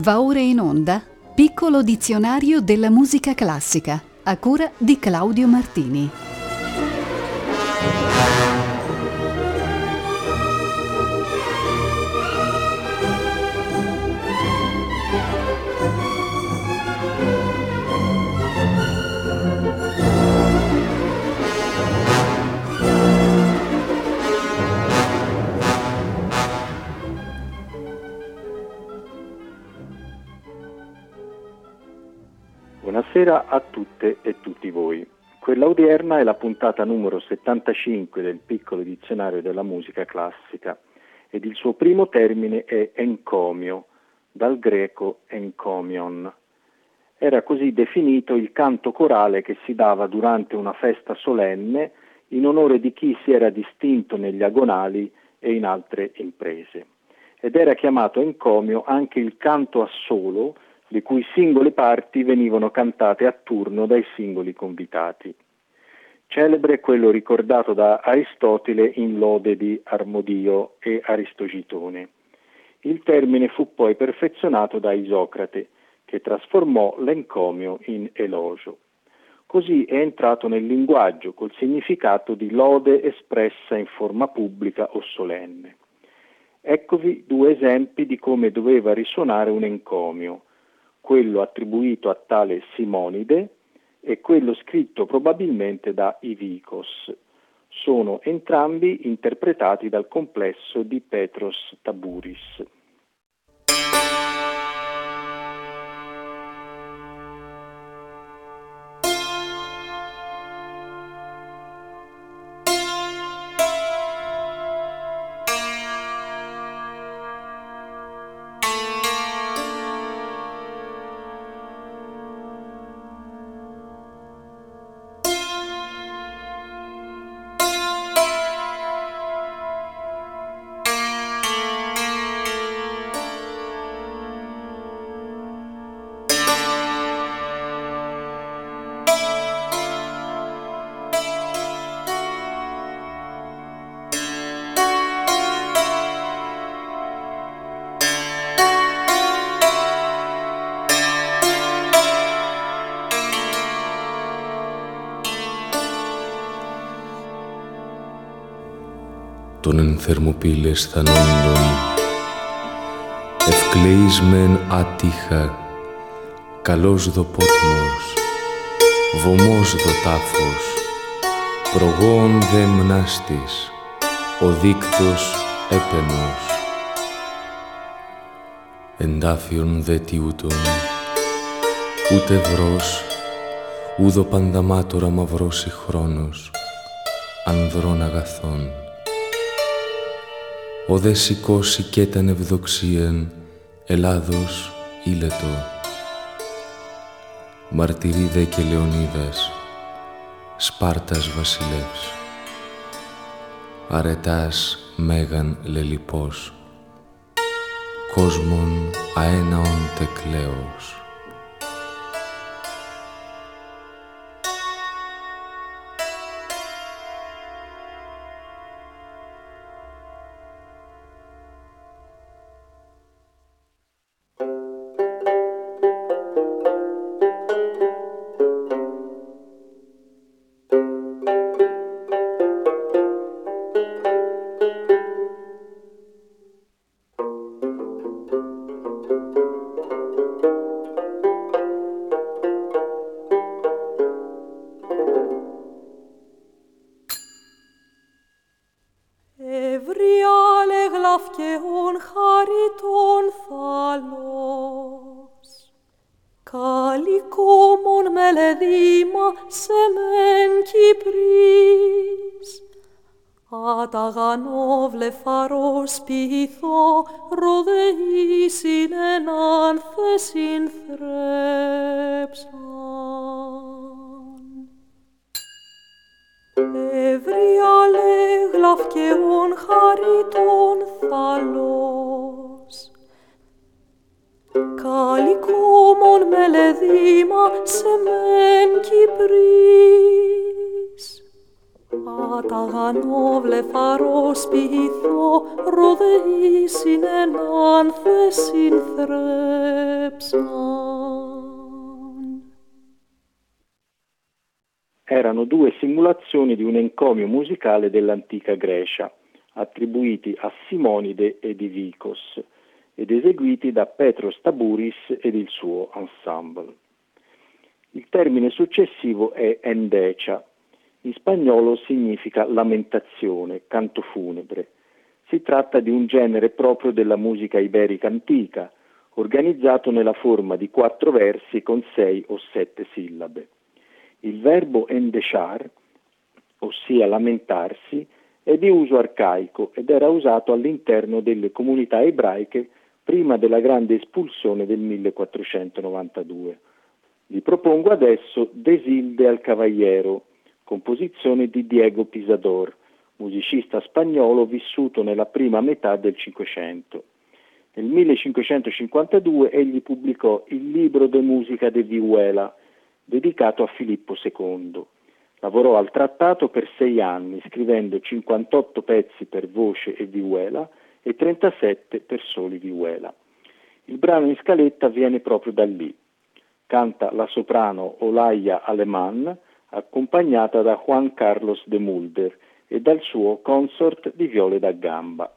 Va ora in onda Piccolo dizionario della musica classica, a cura di Claudio Martini. Buonasera a tutte e tutti voi. Quella odierna è la puntata numero 75 del Piccolo dizionario della musica classica ed il suo primo termine è encomio, dal greco encomion. Era così definito il canto corale che si dava durante una festa solenne in onore di chi si era distinto negli agonali e in altre imprese. Ed era chiamato encomio anche il canto assolo, le cui singole parti venivano cantate a turno dai singoli convitati. Celebre è quello ricordato da Aristotele in lode di Armodio e Aristogitone. Il termine fu poi perfezionato da Isocrate, che trasformò l'encomio in elogio. Così è entrato nel linguaggio col significato di lode espressa in forma pubblica o solenne. Eccovi due esempi di come doveva risuonare un encomio, quello attribuito a tale Simonide e quello scritto probabilmente da Ivicos. Sono entrambi interpretati dal complesso di Petros Taburis. Των εν θερμοπύλες θανόντων, ευκλεείς μεν άτυχα, καλός δο πότμος, βωμός δο τάφος, προγόν δε μνάστης, ο δίκτος έπαινος. Εντάφιον δε τιούτον, ούτε βρός, ούδο πανταμάτωρα μαυρώσει χρόνος, ανδρών αγαθών. Ο δε σηκώσει κι ταν ευδοξίαν, Ελλάδος ήλετο. Μαρτυρί δε και Λεωνίδας, Σπάρτας βασιλεύς. Αρετάς μέγαν λελιπός, κόσμον αέναον τεκλέος. Βλεφαρός πειθώ ροδεήσιν εν άνθεσιν θρέψαν. Ευρία λέγλαφ και ον χαριτών θαλός, καλικόμον μελεδήμα σε μεν Κυπρής, ταγανό βλεφαρό σπιθώ ροδεήσιν εν άνθεσιν θρέψαν. Erano due simulazioni di un encomio musicale dell'antica Grecia, attribuiti a Simonide e Divicos, ed eseguiti da Petros Tabouris ed il suo ensemble. Il termine successivo è endecia. In spagnolo significa lamentazione, canto funebre. Si tratta di un genere proprio della musica iberica antica, organizzato nella forma di 4 versi con 6 o 7 sillabe. Il verbo endechar, ossia lamentarsi, è di uso arcaico ed era usato all'interno delle comunità ebraiche prima della grande espulsione del 1492. Vi propongo adesso Desilde al Cavallero, composizione di Diego Pisador, musicista spagnolo vissuto nella prima metà del Cinquecento. Nel 1552 egli pubblicò il Libro de Musica de Vihuela, dedicato a Filippo II. Lavorò al trattato per 6 anni, scrivendo 58 pezzi per voce e vihuela e 37 per soli vihuela. Il brano in scaletta viene proprio da lì. Canta la soprano Olaya Alemán, accompagnata da Juan Carlos de Mulder e dal suo consort di viole da gamba.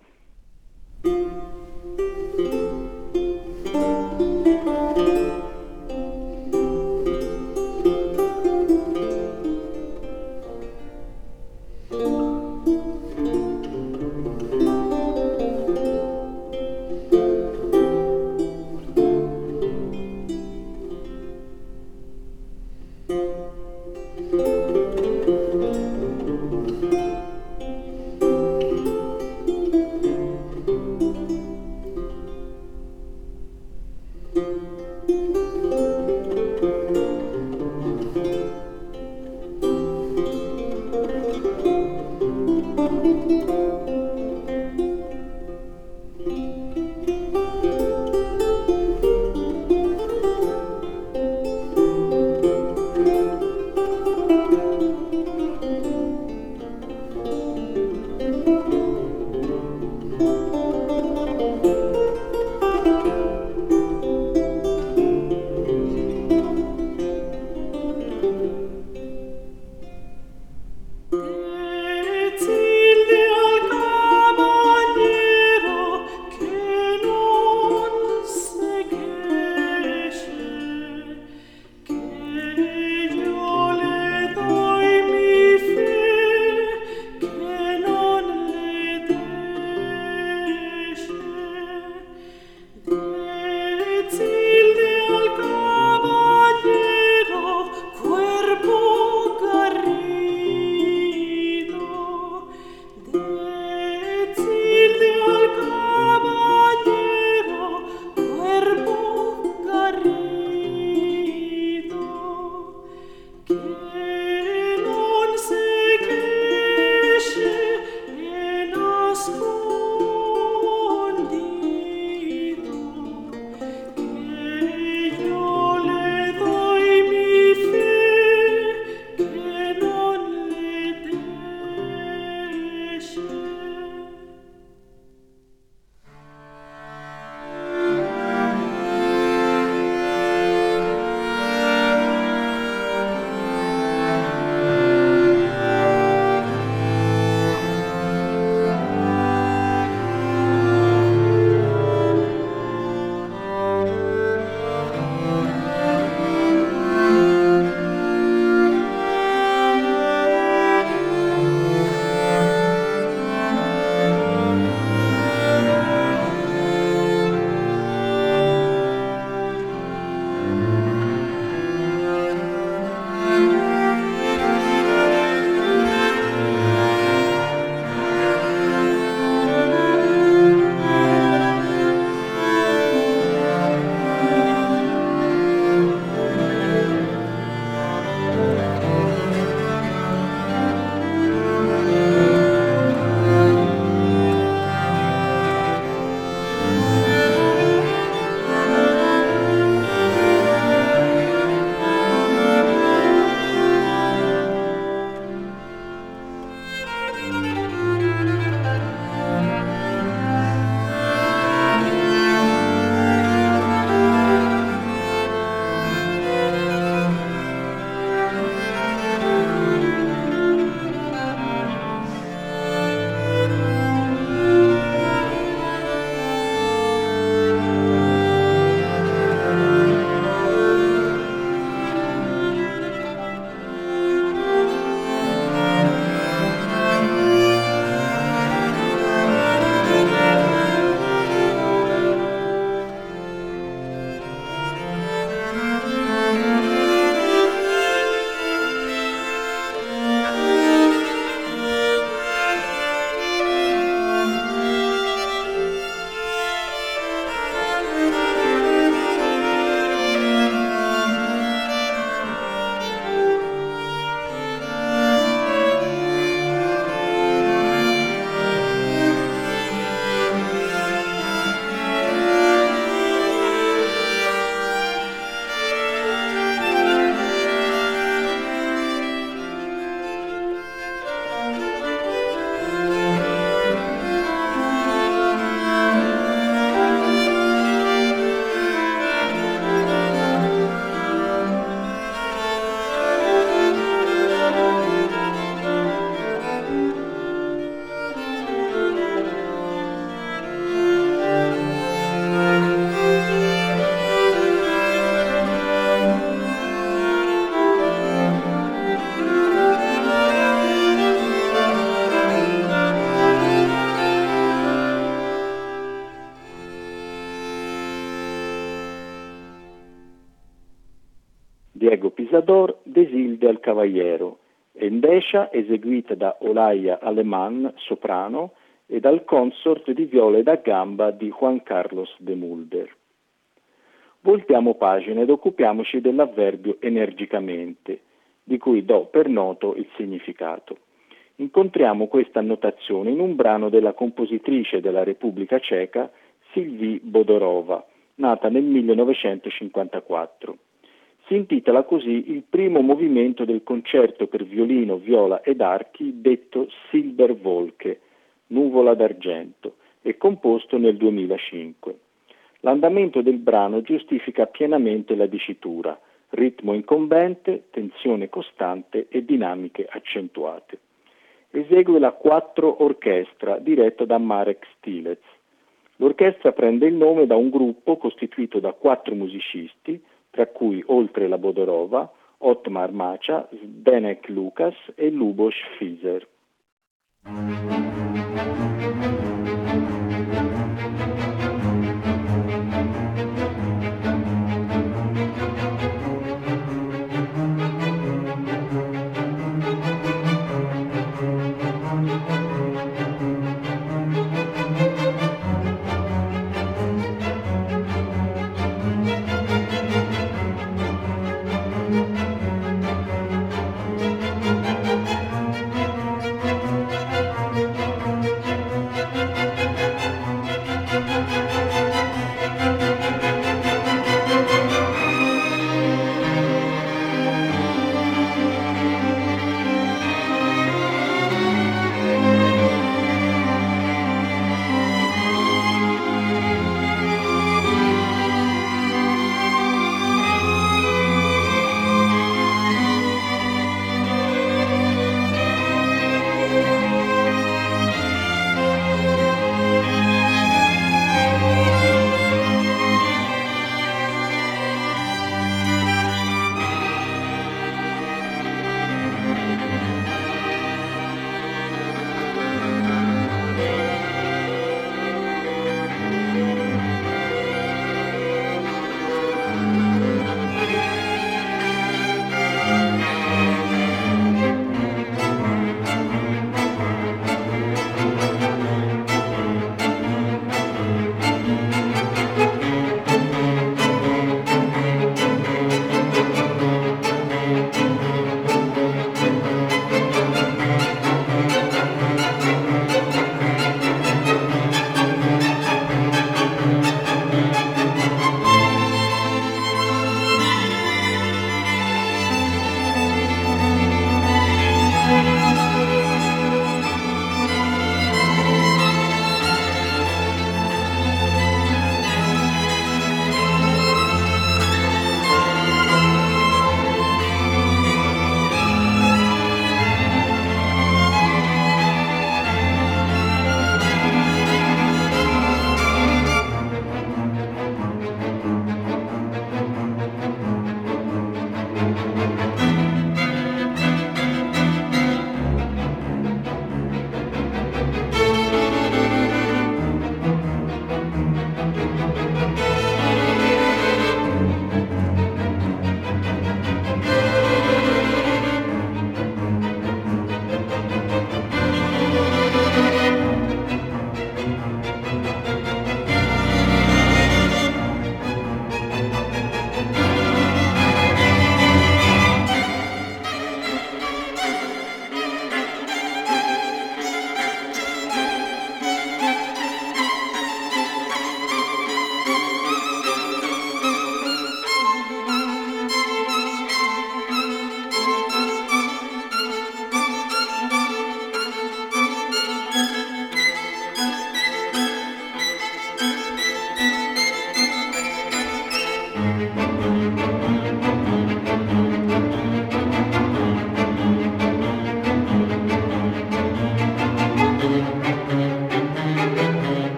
Salvador Desilde al Cavallero, Endescia eseguita da Olaya Aleman, soprano, e dal consort di viole da gamba di Juan Carlos de Mulder. Voltiamo pagina ed occupiamoci dell'avverbio energicamente, di cui do per noto il significato. Incontriamo questa annotazione in un brano della compositrice della Repubblica Ceca Sylvie Bodorova, nata nel 1954. Si intitola così il primo movimento del concerto per violino, viola ed archi detto Silberwolke, nuvola d'argento, e composto nel 2005. L'andamento del brano giustifica pienamente la dicitura, ritmo incombente, tensione costante e dinamiche accentuate. Esegue la Quattro Orchestra diretta da Marek Stilec. L'orchestra prende il nome da un gruppo costituito da 4 musicisti, tra cui, oltre la Bodorova, Otmar Macha, Zdenek Lukas e Lubos Fizer.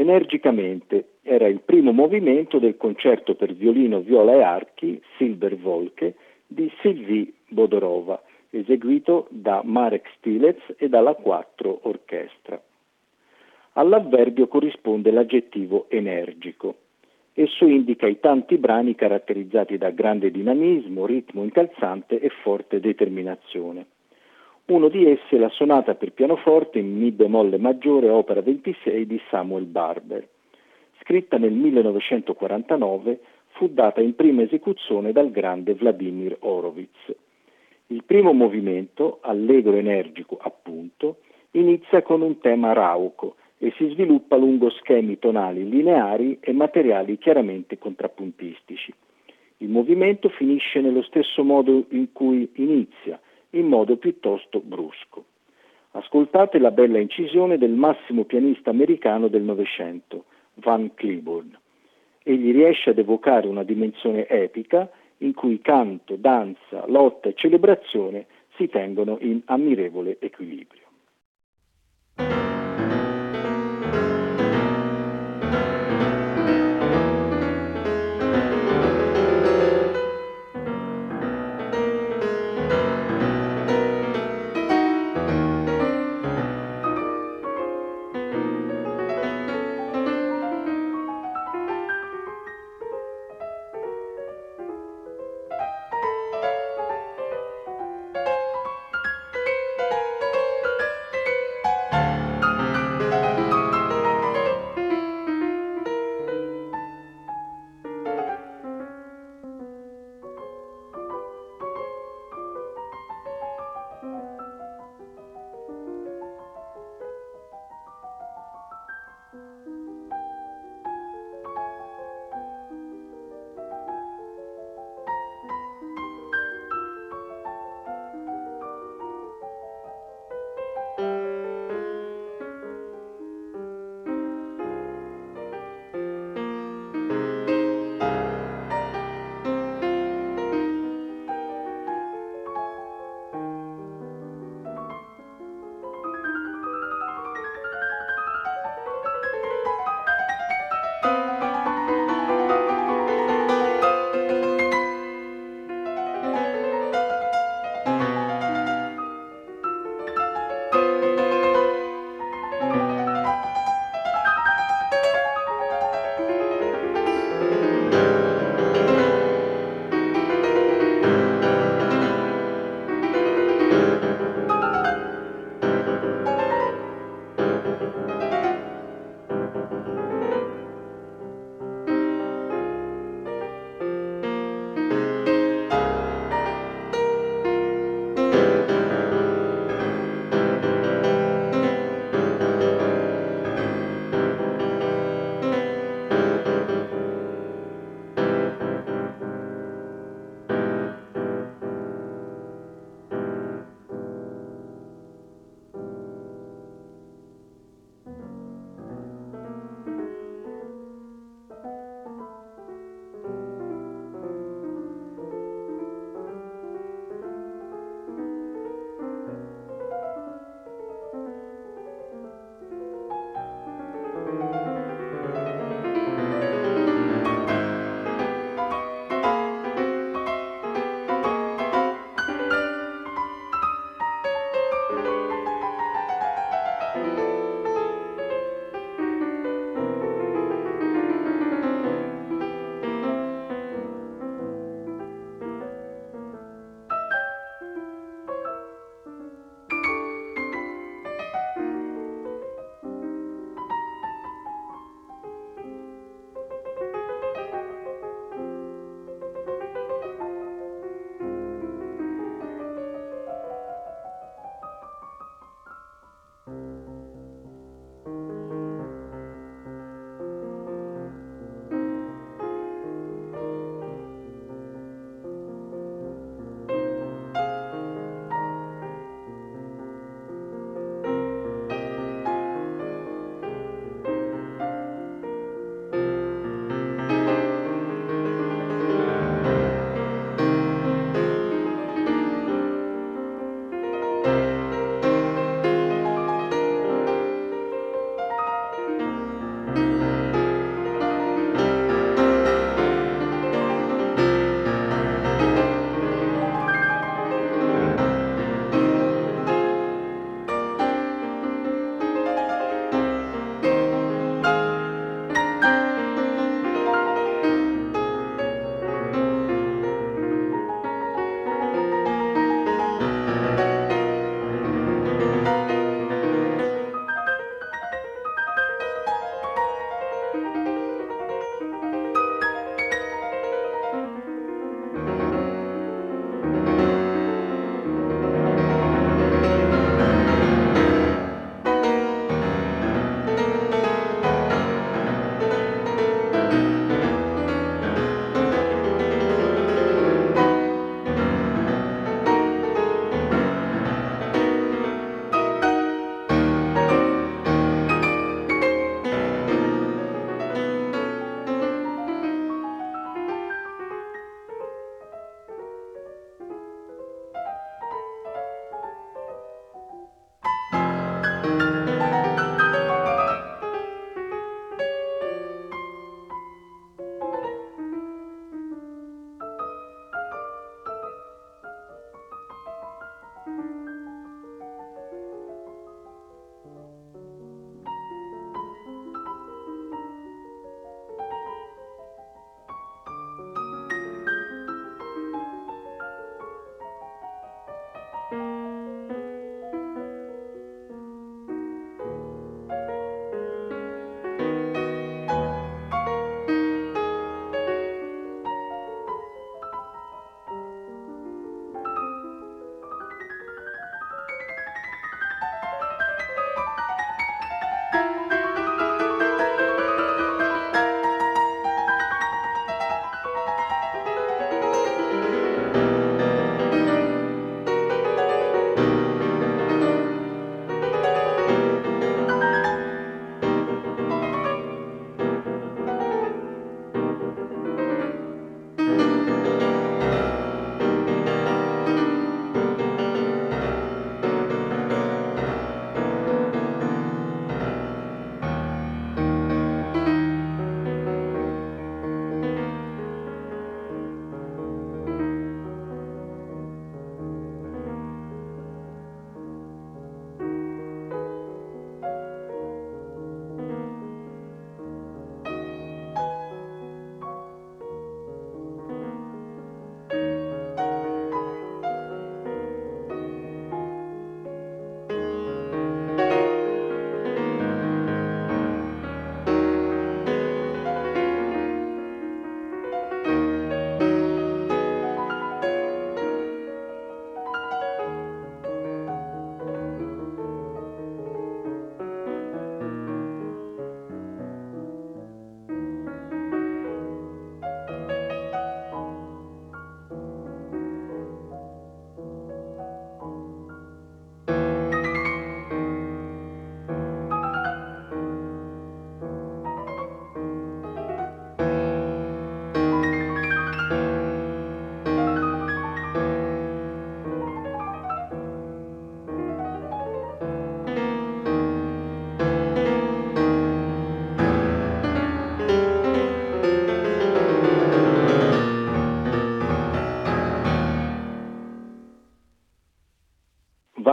energicamente. Era il primo movimento del concerto per violino, viola e archi Silberwolke di Sylvie Bodorova, eseguito da Marek Stilets e dalla 4 Orchestra. All'avverbio corrisponde l'aggettivo energico. Esso indica i tanti brani caratterizzati da grande dinamismo, ritmo incalzante e forte determinazione. Uno di essi è la sonata per pianoforte in Mi bemolle maggiore, opera 26 di Samuel Barber. Scritta nel 1949, fu data in prima esecuzione dal grande Vladimir Horowitz. Il primo movimento, allegro energico appunto, inizia con un tema rauco e si sviluppa lungo schemi tonali lineari e materiali chiaramente contrappuntistici. Il movimento finisce nello stesso modo in cui inizia, in modo piuttosto brusco. Ascoltate la bella incisione del massimo pianista americano del Novecento, Van Cliburn. Egli riesce ad evocare una dimensione epica in cui canto, danza, lotta e celebrazione si tengono in ammirevole equilibrio.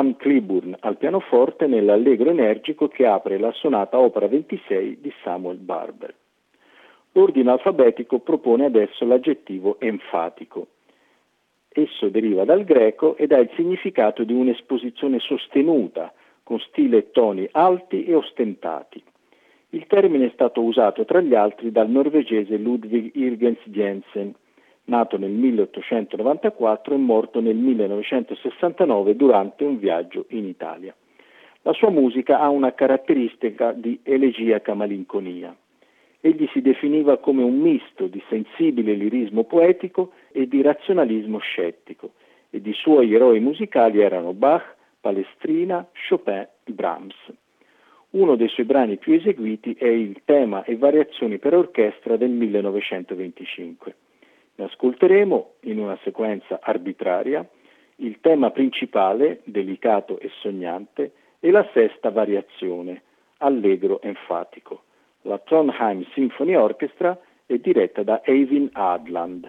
Van Cliburn al pianoforte nell'allegro energico che apre la sonata opera 26 di Samuel Barber. L'ordine alfabetico propone adesso l'aggettivo enfatico. Esso deriva dal greco ed ha il significato di un'esposizione sostenuta, con stile e toni alti e ostentati. Il termine è stato usato tra gli altri dal norvegese Ludvig Irgens Jensen, nato nel 1894 e morto nel 1969 durante un viaggio in Italia. La sua musica ha una caratteristica di elegiaca malinconia. Egli si definiva come un misto di sensibile lirismo poetico e di razionalismo scettico, ed i suoi eroi musicali erano Bach, Palestrina, Chopin e Brahms. Uno dei suoi brani più eseguiti è il tema e variazioni per orchestra del 1925. Ne ascolteremo, in una sequenza arbitraria, il tema principale, delicato e sognante, e la sesta variazione, allegro enfatico. La Trondheim Symphony Orchestra è diretta da Eivind Adland.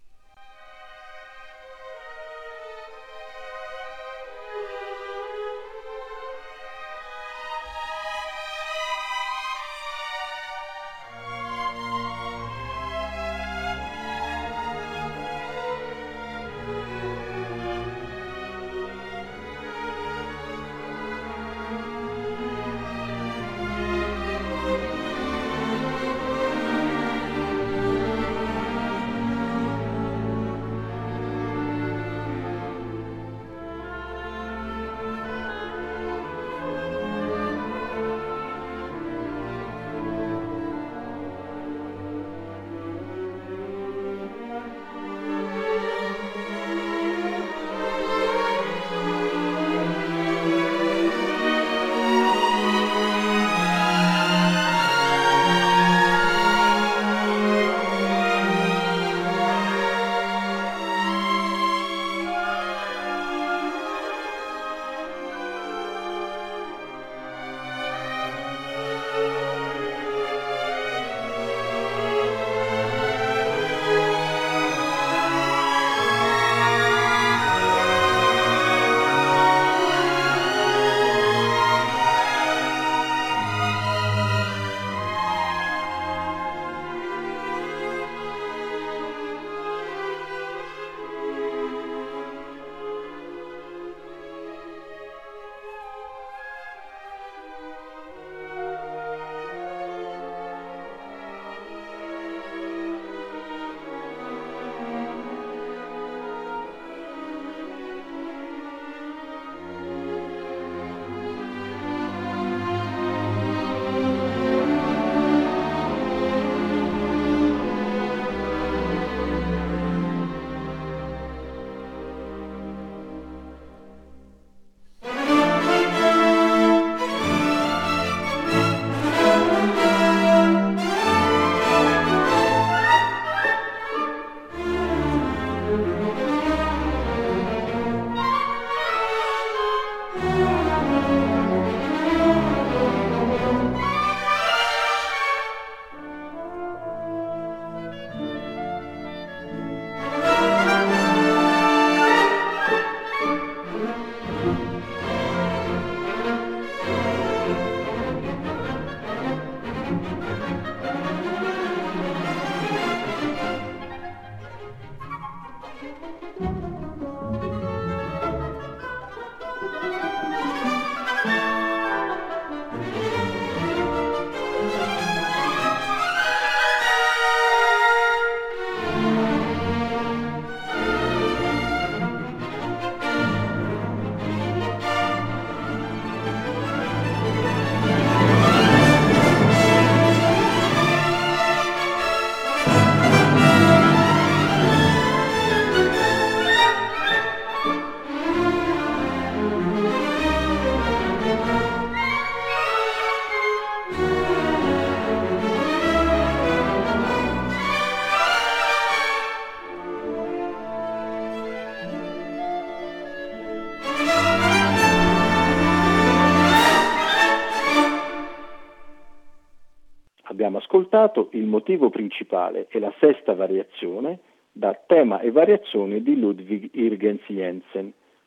Abbiamo ascoltato il motivo principale e la sesta variazione da Tema e variazione di Ludvig Irgens Jensen,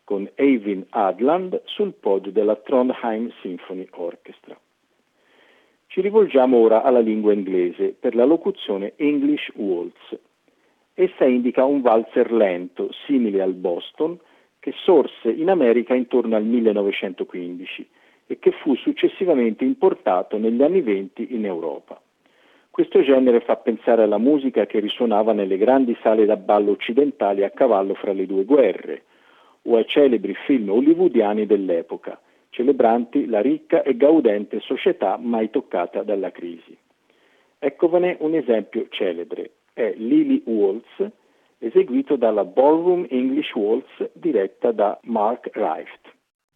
con Eivind Adland sul podio della Trondheim Symphony Orchestra. Ci rivolgiamo ora alla lingua inglese per la locuzione English Waltz. Essa indica un valzer lento, simile al Boston, che sorse in America intorno al 1915 e che fu successivamente importato negli anni '20 in Europa. Questo genere fa pensare alla musica che risuonava nelle grandi sale da ballo occidentali a cavallo fra le due guerre, o ai celebri film hollywoodiani dell'epoca, celebranti la ricca e gaudente società mai toccata dalla crisi. Eccovene un esempio celebre, è Lily Waltz, eseguito dalla Ballroom English Waltz diretta da Mark Rife.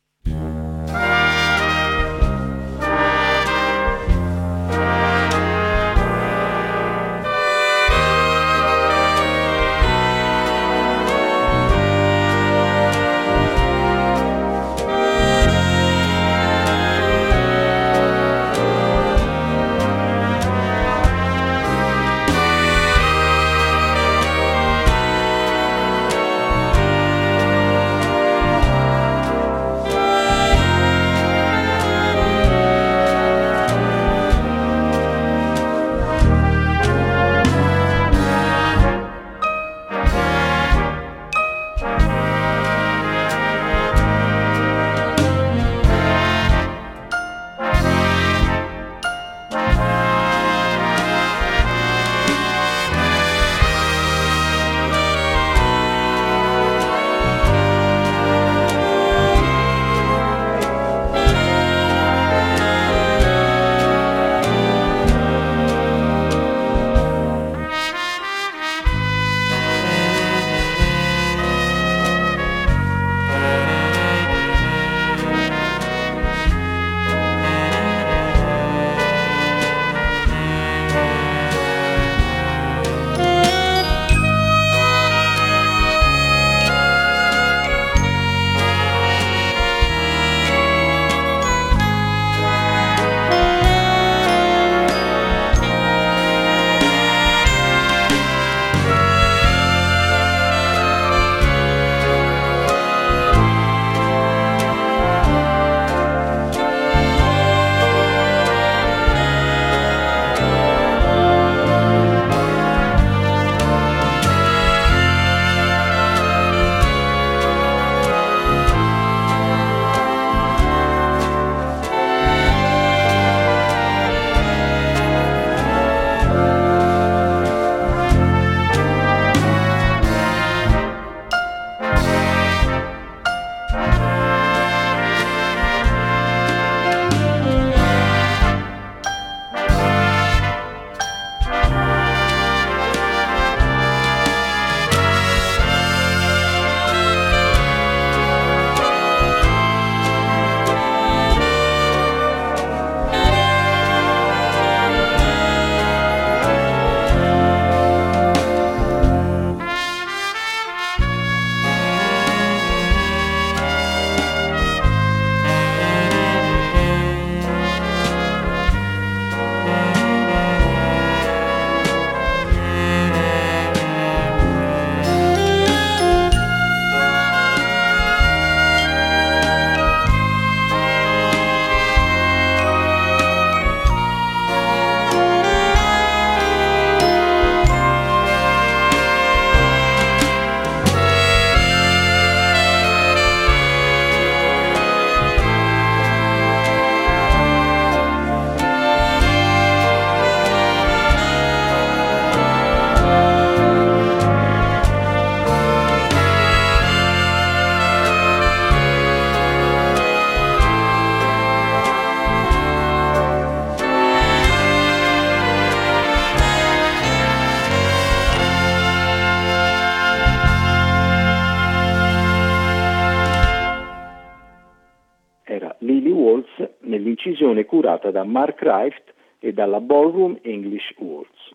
nell'incisione curata da Mark Rife e dalla Ballroom English Waltz.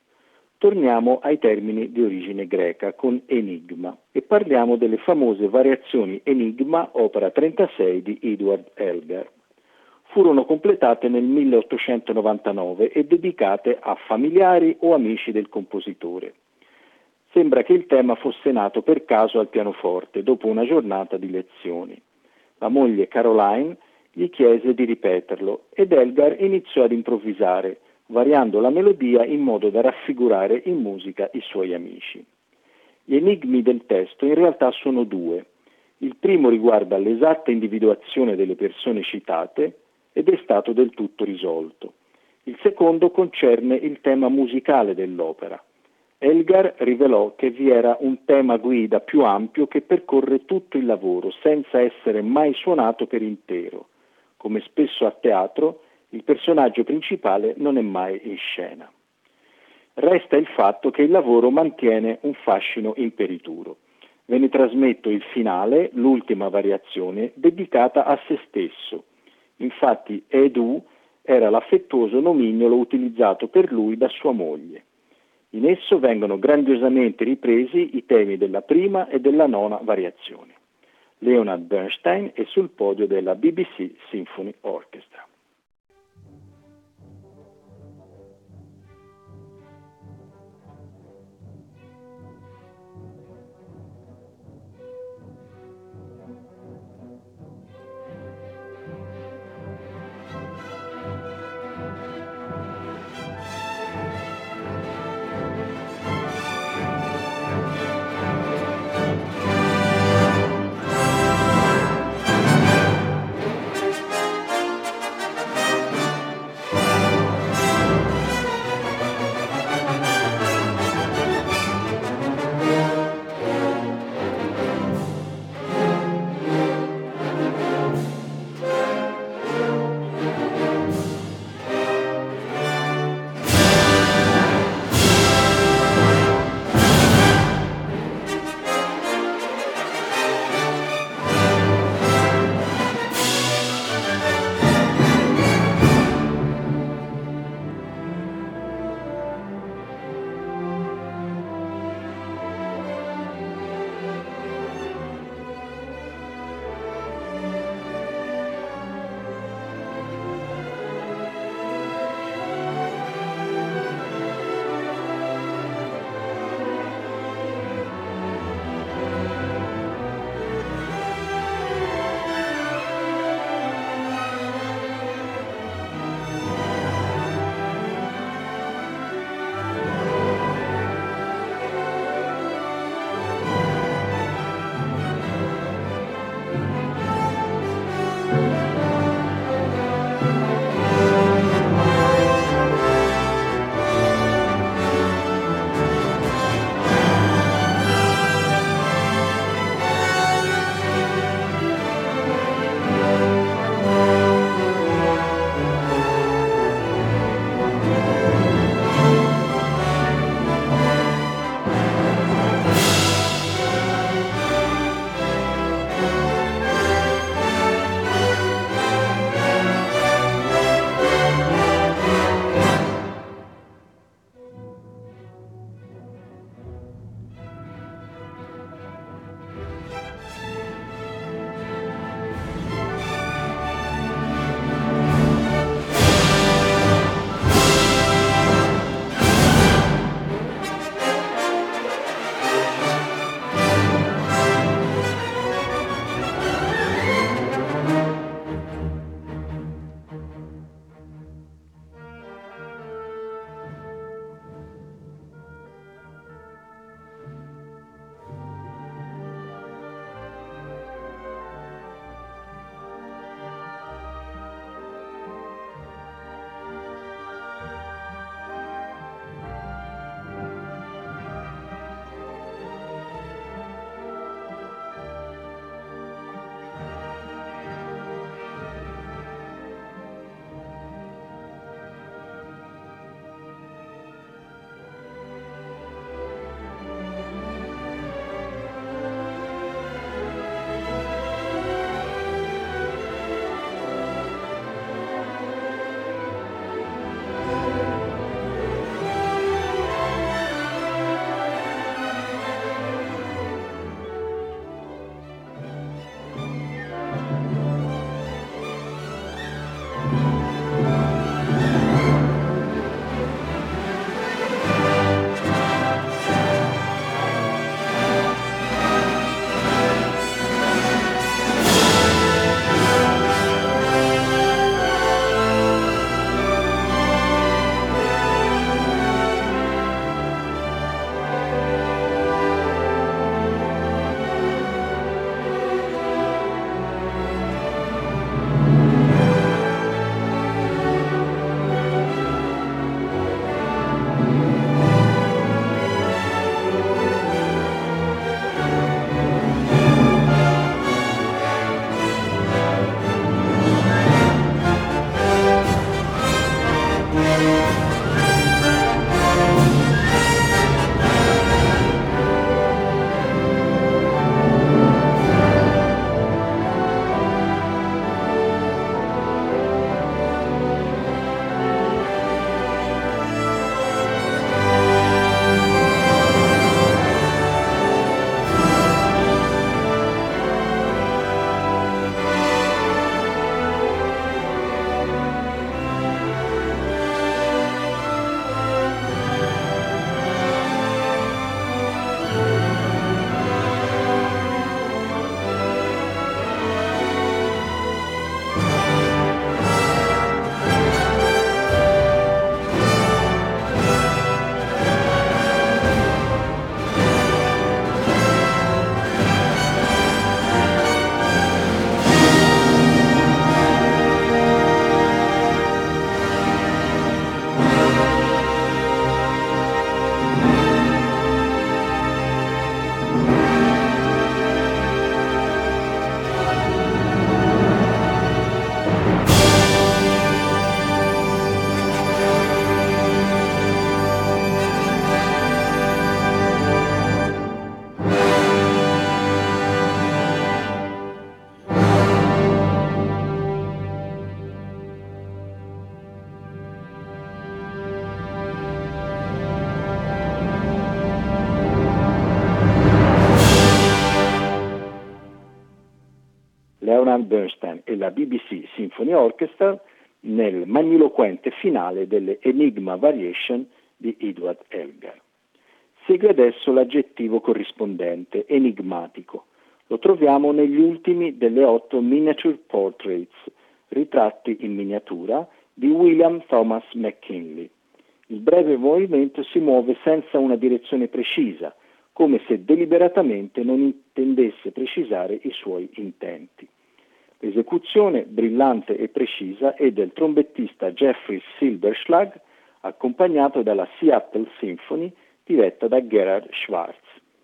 Torniamo ai termini di origine greca con enigma e parliamo delle famose variazioni Enigma, opera 36 di Edward Elgar. Furono completate nel 1899 e dedicate a familiari o amici del compositore. Sembra che il tema fosse nato per caso al pianoforte dopo una giornata di lezioni. La moglie Caroline gli chiese di ripeterlo ed Elgar iniziò ad improvvisare, variando la melodia in modo da raffigurare in musica i suoi amici. Gli enigmi del testo in realtà sono due. Il primo riguarda l'esatta individuazione delle persone citate ed è stato del tutto risolto. Il secondo concerne il tema musicale dell'opera. Elgar rivelò che vi era un tema guida più ampio che percorre tutto il lavoro senza essere mai suonato per intero. Come spesso a teatro, il personaggio principale non è mai in scena. Resta il fatto che il lavoro mantiene un fascino imperituro. Ve ne trasmetto il finale, l'ultima variazione, dedicata a se stesso. Infatti Edu era l'affettuoso nomignolo utilizzato per lui da sua moglie. In esso vengono grandiosamente ripresi i temi della prima e della nona variazione. Leonard Bernstein è sul podio della BBC Symphony Orchestra. Leonard Bernstein e la BBC Symphony Orchestra nel magniloquente finale delle Enigma Variation di Edward Elgar. Segue adesso l'aggettivo corrispondente, enigmatico. Lo troviamo negli ultimi delle 8 Miniature Portraits, ritratti in miniatura, di William Thomas McKinley. Il breve movimento si muove senza una direzione precisa, come se deliberatamente non intendesse precisare i suoi intenti. L'esecuzione, brillante e precisa, è del trombettista Jeffrey Silberschlag, accompagnato dalla Seattle Symphony, diretta da Gerhard Schwarz.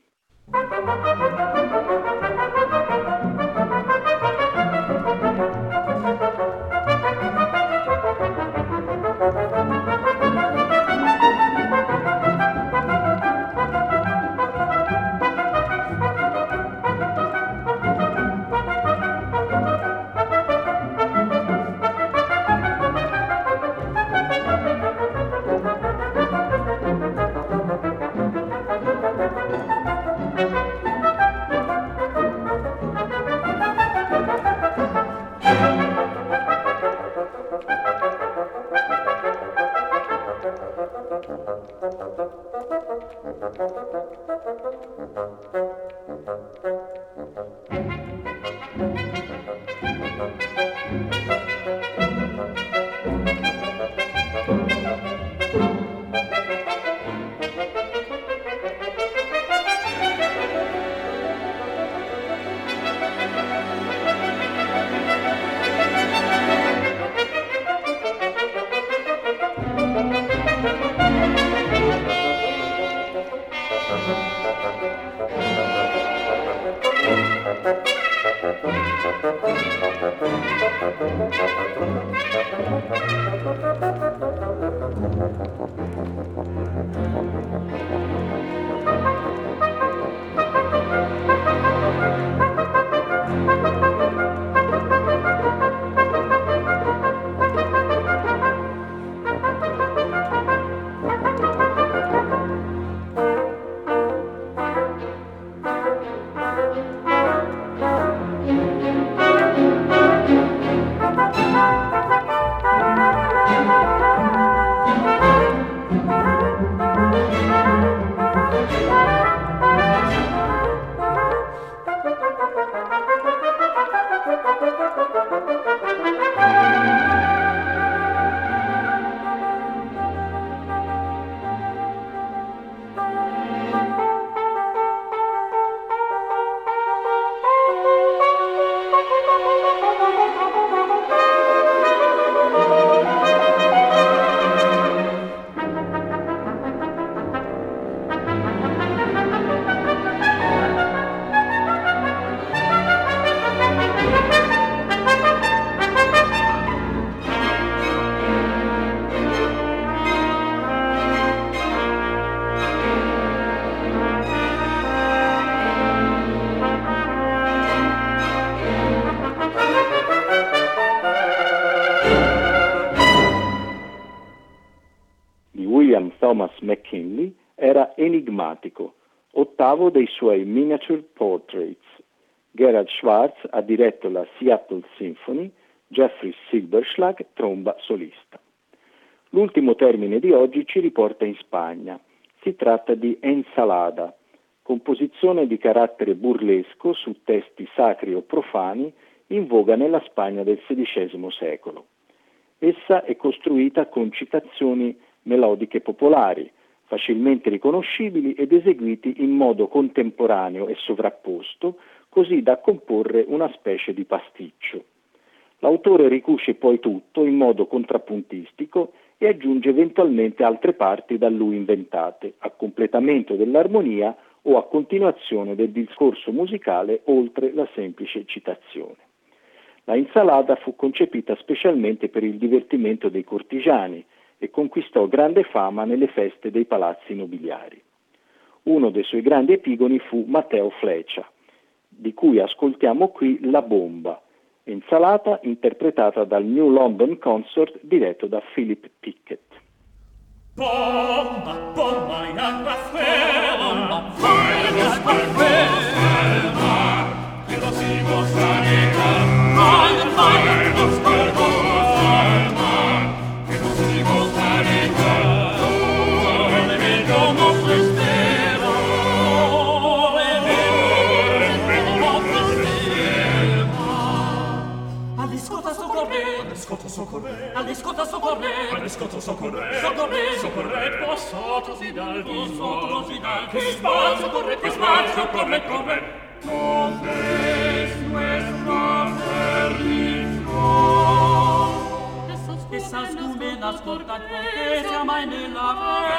Thomas McKinley era enigmatico, ottavo dei suoi Miniature Portraits. Gerhard Schwarz ha diretto la Seattle Symphony, Jeffrey Silberschlag tromba solista. L'ultimo termine di oggi ci riporta in Spagna. Si tratta di Ensalada, composizione di carattere burlesco su testi sacri o profani in voga nella Spagna del XVI secolo. Essa è costruita con citazioni melodiche popolari, facilmente riconoscibili ed eseguiti in modo contemporaneo e sovrapposto, così da comporre una specie di pasticcio. L'autore ricuce poi tutto in modo contrappuntistico e aggiunge eventualmente altre parti da lui inventate, a completamento dell'armonia o a continuazione del discorso musicale oltre la semplice citazione. La Insalada fu concepita specialmente per il divertimento dei cortigiani e conquistò grande fama nelle feste dei palazzi nobiliari. Uno dei suoi grandi epigoni fu Matteo Fleccia, di cui ascoltiamo qui La Bomba, Insalata interpretata dal New London Consort diretto da Philip Pickett. Bomba, bomba in acqua ferma, fuego sparpella, che lo si mostra nera. soccorre, all'iscotto soccorre, all'iscotto soccorre, soccorre, soccorre, passato dal viso, che spazio corre, che spazio corre, corre. Dove nuestra perdición? Esas cúmenas cortan porque se ama en el ave.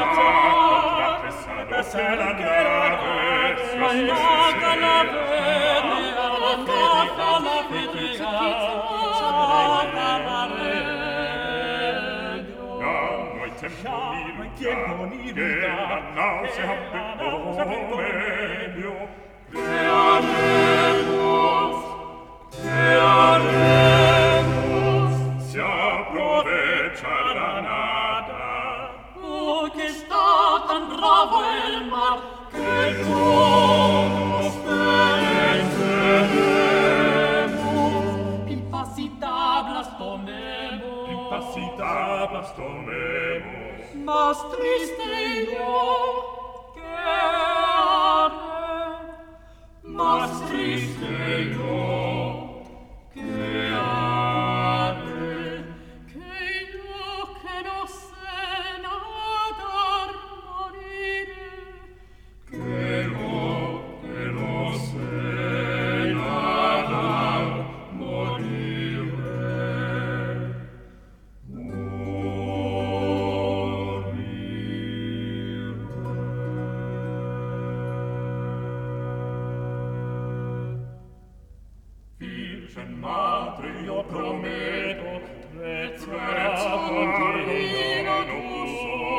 Se la nave, Arranca la vede, arranca la vedega, arranca la regno. Ya no hay tiempo ni lugar, que la náusea vengo medio. Crearemos, se aprovecha la nada. Oh, que está tan bravo el mar, Que todos pereceremos. impasitablas tomemos, Impasitablas tomemos. más triste yo, que haré, más triste yo, que haré, que yo que no sé nadar moriré, Que no sé nadar, moriré. Virgen Madre, io prometto, trezza contigo non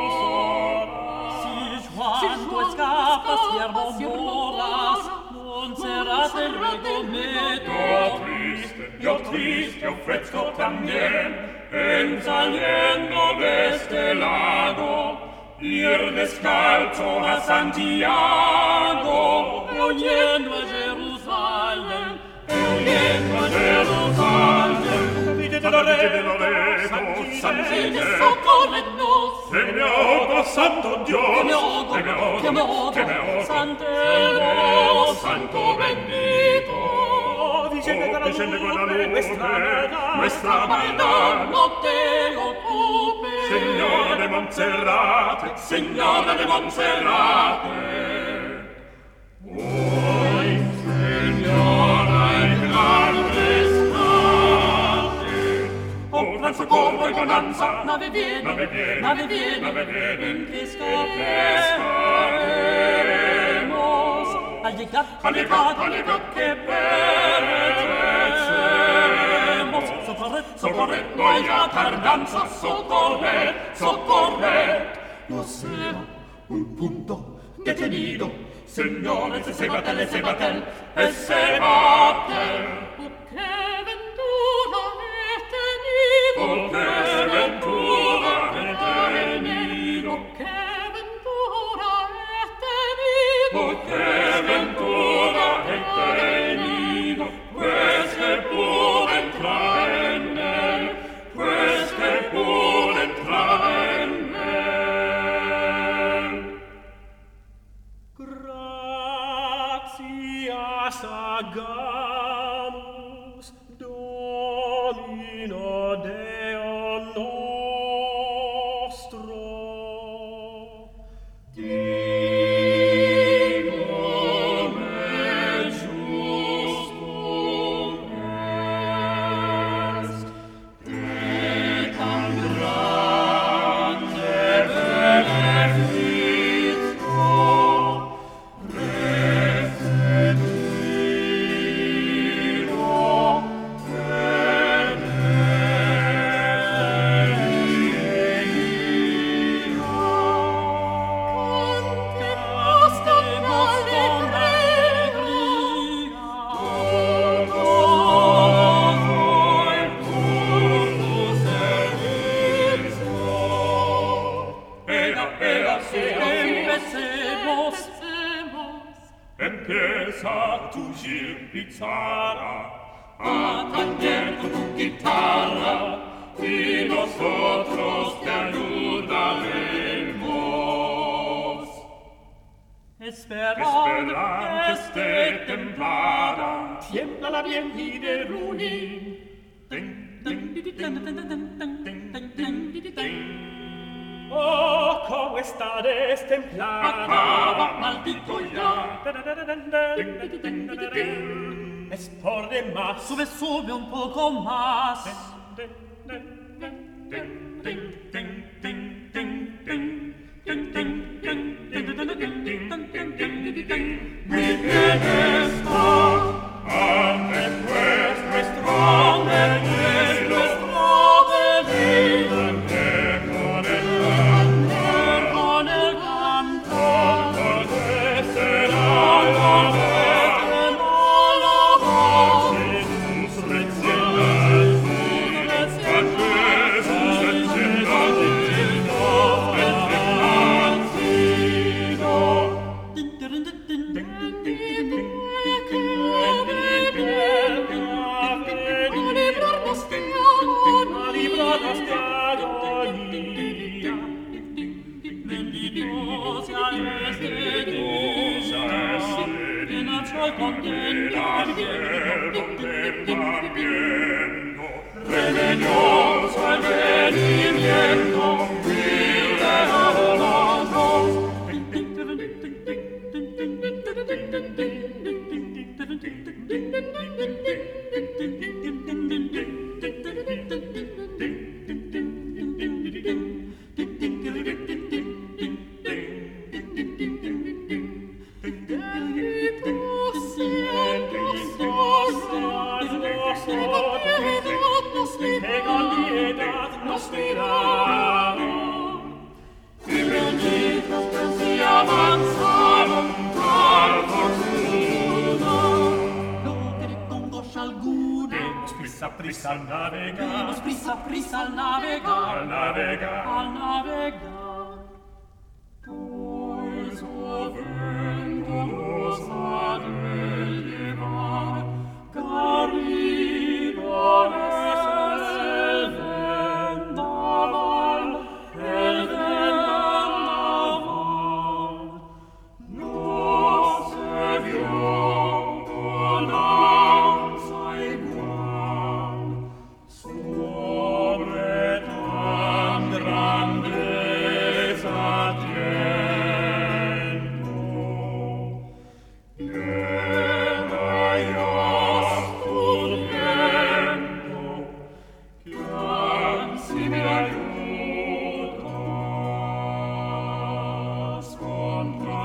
si quando escapa siervo moras, non será del regometo. Yo triste ofrezco también, en saliendo de este lago, ir descalzo a Santiago, Oyendo a Jerusalén, oyendo a Jerusalén. Vite de Loreto, Santine, soccorrenos, che mi ogo, santo Dios, che mi ogo, Santero, santo bendito. Vicende con la luce, nuestra vita no te occupe, Signora de Montserrate, Signora de Montserrate. Oi, Signora in grande estate, oh gran socorro e bonanza, nave viene, nave viene, nave viene, nave viene, in che scapperemos, al llegar, che pereceremos, soccorred, no haya tardanza, soccorred, no sea un punto detenido, señores, ese batel, ese batel. Oh, che ventura he tenido, Oh, che ventura he tenido, oh, che ventura he tenido, oh, che ventura he tenido, pues que pude entrar en él, pues que pude entrar en él. Gratias agamus, Domino Deo nostro. Empieza tu gir pizarra, a tañer con tu guitarra, y nosotros te ayudaremos. Esperan que esté templada, tiembla la bien y de ruin. ten, ten, Oh, come sta destemplada, Acaba, maldito ya. es por demás. Sube, sube un poco más. Muy bien está, ande pues nuestro anhelo, con el canto, que será la Jesús Religioso advenimiento, prisa al navegar, Prisa al navegar, al navegar, al navegar. pues o vento nos ha de llevar, carrido es el vendaval, no se vio bonanza igual, sobre tan grandeza tiempo, llena Dios tu tiempo, que ansi me ayudas contra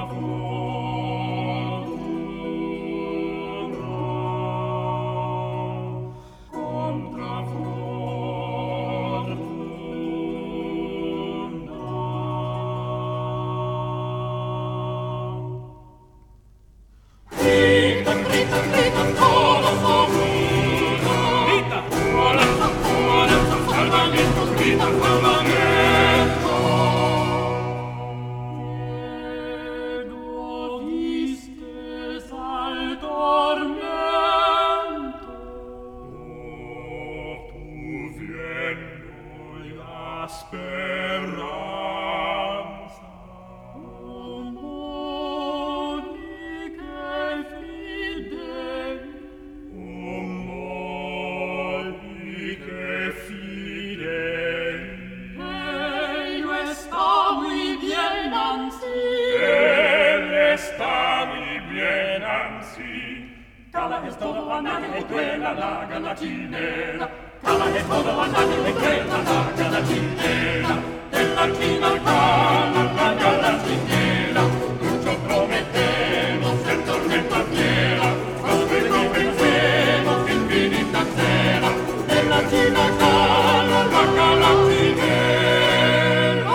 Cala es todo a nadie le duela la galacinera. Cala es todo a nadie le duela la galacinera. En la china cala la galacinera. Mucho prometemos el tormenta fiera. Nos convencemos infinita cera. En la china cala la galacinera.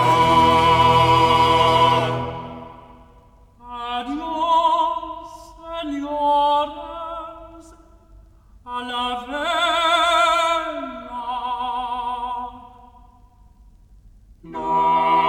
Adiós, señores, a la vela. No.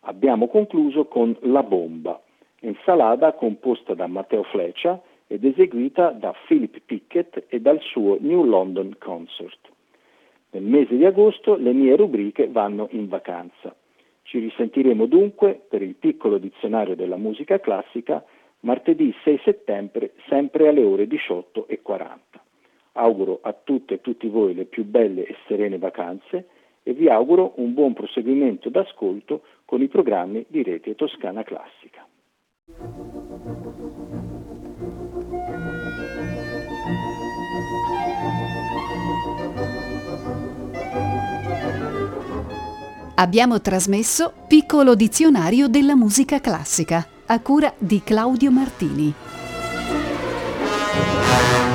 Abbiamo concluso con La Bomba, insalata composta da Matteo Fleccia ed eseguita da Philip Pickett e dal suo New London Concert. Nel mese di agosto le mie rubriche vanno in vacanza. Ci risentiremo dunque per il piccolo dizionario della musica classica martedì 6 settembre, sempre alle ore 18:40. Auguro a tutte e tutti voi le più belle e serene vacanze e vi auguro un buon proseguimento d'ascolto con i programmi di Rete Toscana Classica. Abbiamo trasmesso Piccolo dizionario della musica classica, a cura di Claudio Martini.